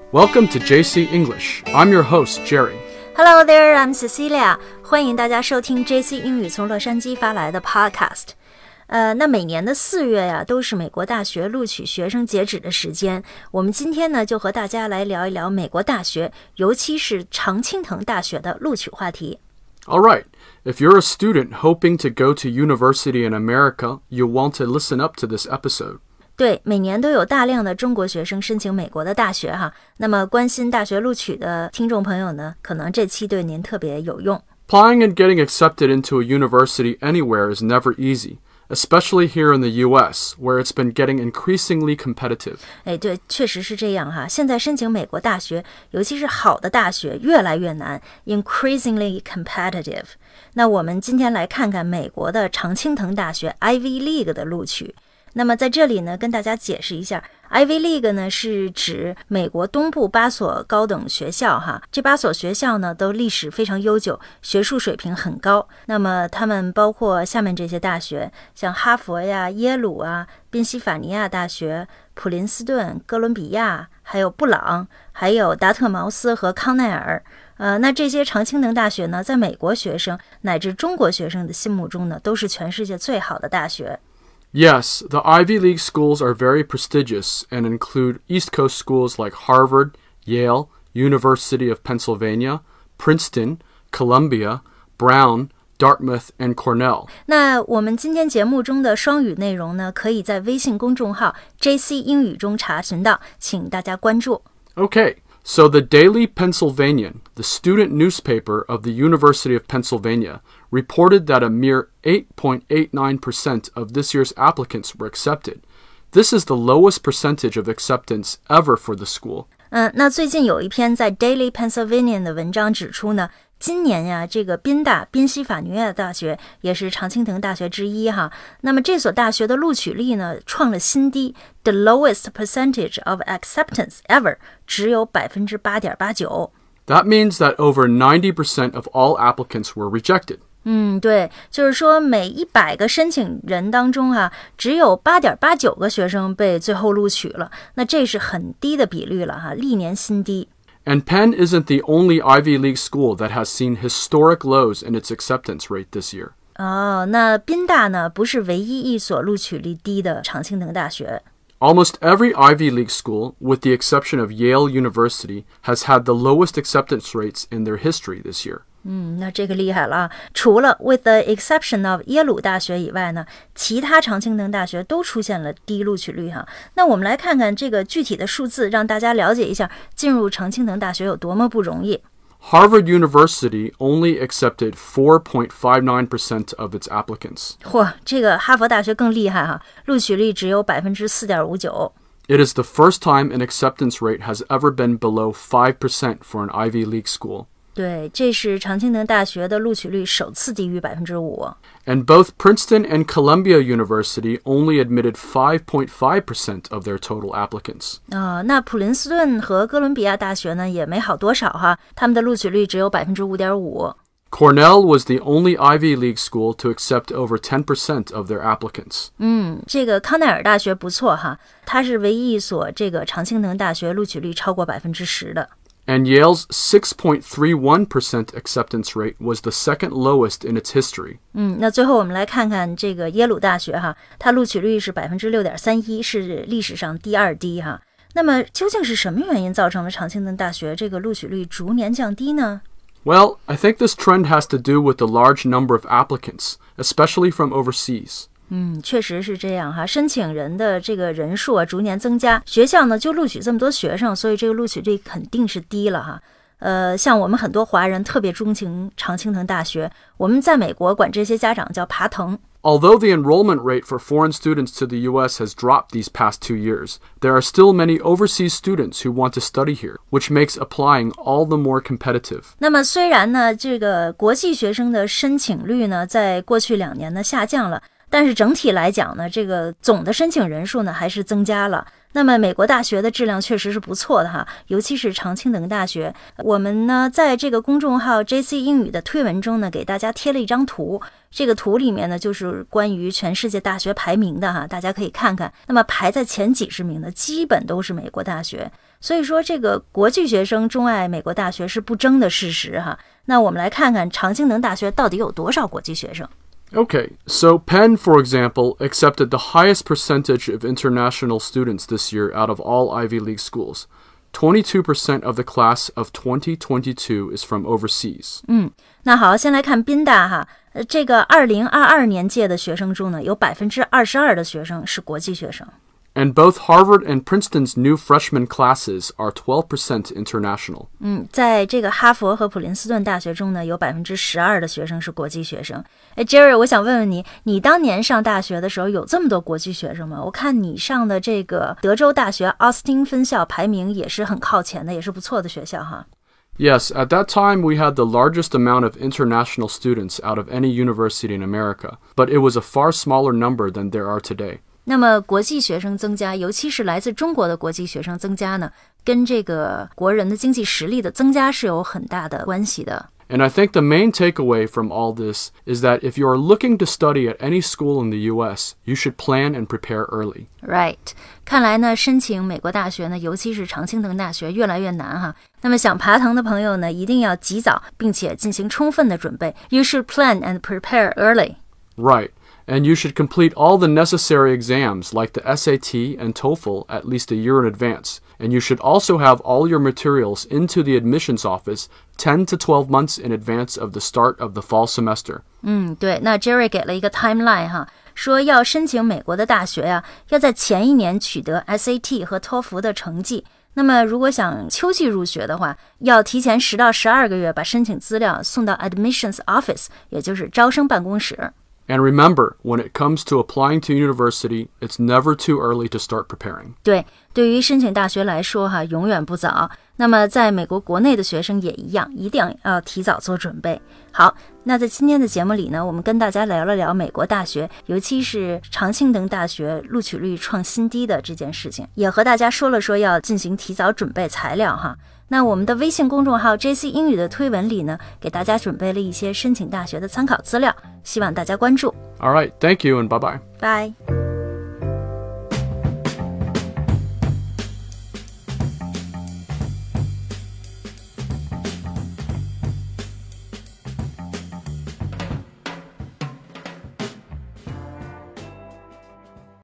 Welcome to JC English. I'm your host, Jerry. Hello there, I'm Cecilia. 欢迎大家收听 JC 英语从洛杉矶发来的 podcast。那每年的4月呀，都是美国大学录取学生截止的时间。我们今天呢，就和大家来聊一聊美国大学，尤其是常青藤大学的录取话题。 All right. If you're a student hoping to go to university in America, you'll want to listen up to this episode. 对，每年都有大量的中国学生申请美国的大学哈。那么关心大学录取的听众朋友呢，可能这期对您特别有用。 Applying and getting accepted into a university anywhere is never easy, especially here in the US, where it's been getting increasingly competitive. 对，确实是这样哈。现在申请美国大学，尤其是好的大学，越来越难 ，increasingly competitive. 那我们今天来看看美国的常青藤大学 Ivy League 的录取。那么在这里呢，跟大家解释一下 Ivy League 呢是指美国东部8所高等学校哈，这8所学校呢都历史非常悠久，学术水平很高。那么他们包括下面这些大学，像哈佛呀、耶鲁啊、宾夕法尼亚大学、普林斯顿、哥伦比亚，还有布朗，还有达特茅斯和康奈尔。那这些常青藤大学呢，在美国学生乃至中国学生的心目中呢，都是全世界最好的大学。 Yes, the Ivy League schools are very prestigious and include East Coast schools like Harvard, Yale, University of Pennsylvania, Princeton, Columbia, Brown, Dartmouth, and Cornell. 那我们今天节目中的双语内容呢，可以在微信公众号 JC 英语中查询到，请大家关注。 Okay.So the Daily Pennsylvanian, the student newspaper of the University of Pennsylvania, reported that a mere 8.89% of this year's applicants were accepted. This is the lowest percentage of acceptance ever for the school. 那最近有一篇在 Daily Pennsylvanian 的文章指出呢，今年呀，这个宾夕法尼亚大学也是常青藤大学之一哈。那么这所大学的录取率呢，创了新低 ，the lowest percentage of acceptance ever， 只有 8.89%。 That means that over 90% of all applicants were rejected. 对，就是说每100个申请人当中只有 8.89 个学生被最后录取了，那这是很低的比率了哈，历年新低。 And Penn isn't the only Ivy League school that has seen historic lows in its acceptance rate this year. 那宾大呢，不是唯一一所录取率低的常青藤大学。 Almost every Ivy League school, with the exception of Yale University, has had the lowest acceptance rates in their history this year. 那这个厉害了除了 with the exception of 耶鲁大学以外呢，其他常青藤大学都出现了低录取率哈。那我们来看看这个具体的数字，让大家了解一下进入常青藤大学有多么不容易。 Harvard University only accepted 4.59% of its applicants. 这个哈佛大学更厉害哈，录取率只有 4.59%。 It is the first time an acceptance rate has ever been below 5% for an Ivy League school. 对，这是常青藤大学的录取率首次低于 5%。 And both Princeton and Columbia University only admitted 5.5% of their total applicants. 那普林斯顿和哥伦比亚大学呢，也没好多少哈，他们的录取率只有 5.5%。 Cornell was the only Ivy League school to accept over 10% of their applicants. 这个康奈尔大学不错哈，它是唯一一所这个常青藤大学录取率超过 10% 的。 And Yale's 6.31% acceptance rate was the second lowest in its history. 那最后我们来看看这个耶鲁大学哈，它录取率是 6.31%， 是历史上第2低哈。那么究竟是什么原因造成了常青藤大学这个录取率逐年降低呢？ Well, I think this trend has to do with the large number of applicants, especially from overseas. 确实是这样哈，申请人的这个人数逐年增加，学校呢就录取这么多学生，所以这个录取率肯定是低了哈。像我们很多华人特别钟情常青藤大学，我们在美国管这些家长叫爬藤。 Although the enrollment rate for foreign students to the U.S. has dropped these past 2 years, there are still many overseas students who want to study here, which makes applying all the more competitive. 那么虽然呢，这个国际学生的申请率呢，在过去2年呢下降了， 但是整体来讲呢，这个总的申请人数呢还是增加了。那么美国大学的质量确实是不错的哈，尤其是常青藤大学。我们呢在这个公众号 JC 英语的推文中呢，给大家贴了一张图，这个图里面呢就是关于全世界大学排名的哈，大家可以看看。那么排在前几十名的基本都是美国大学，所以说这个国际学生钟爱美国大学是不争的事实哈。那我们来看看常青藤大学到底有多少国际学生。 Okay, so Penn, for example, accepted the highest percentage of international students this year out of all Ivy League schools. 22% of the class of 2022 is from overseas. 那好，先来看宾大哈，这个2022年届的学生中呢，有22%的学生是国际学生。 And both Harvard and Princeton's new freshman classes are 12% international. 在这个哈佛和普林斯顿大学中呢，有12%的学生是国际学生。Jerry， 我想问问你，你当年上大学的时候有这么多国际学生吗？我看你上的这个德州大学奥斯汀分校排名也是很靠前的，也是不错的学校哈。 Yes, at that time we had the largest amount of international students out of any university in America, but it was a far smaller number than there are today. 那么国际学生增加，尤其是来自中国的国际学生增加呢，跟这个国人的经济实力的增加是有很大的关系的。 And I think the main takeaway from all this is that if you are looking to study at any school in the US, you should plan and prepare early. Right. 看来呢，申请美国大学呢，尤其是常青藤大学越来越难哈。那么想爬藤的朋友呢，一定要及早，并且进行充分的准备。You should plan and prepare early. Right.And you should complete all the necessary exams like the SAT and TOEFL at least a year in advance. And you should also have all your materials into the admissions office 10 to 12 months in advance of the start of the fall semester. 对，那 Jerry 给了一个 timeline 哈，说要申请美国的大学呀，要在前一年取得 SAT 和托福的成绩。那么如果想秋季入学的话，要提前10到12个月把申请资料送到 admissions office， 也就是招生办公室。 And remember, when it comes to applying to university, it's never too early to start preparing. 对于申请大学来说哈，永远不早。那么在美国国内的学生也一样，一定要提早做准备。好，那在今天的节目里呢，我们跟大家聊了聊美国大学，尤其是常青藤大学录取率创新低的这件事情，也和大家说了说要进行提早准备材料哈。那我们的微信公众号 JC 英语的推文里呢，给大家准备了一些申请大学的参考资料，希望大家关注。 All right, thank you and bye-bye. Bye.